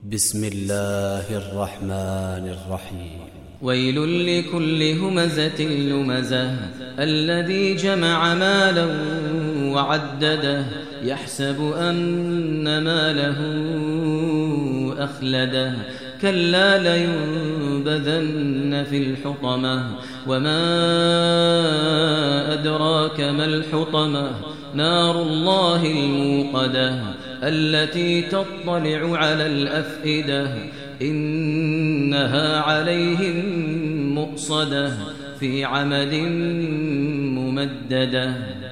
بسم الله الرحمن الرحيم ويل لكل همزة لمزة الذي جمع مالا وعدده يحسب أن ماله أخلده كلا لينبذن في الحطمة وما أدراك ما الحطمة نار الله الموقدة التي تطلع على الأفئدة إنها عليهم مؤصدة في عمد ممددة.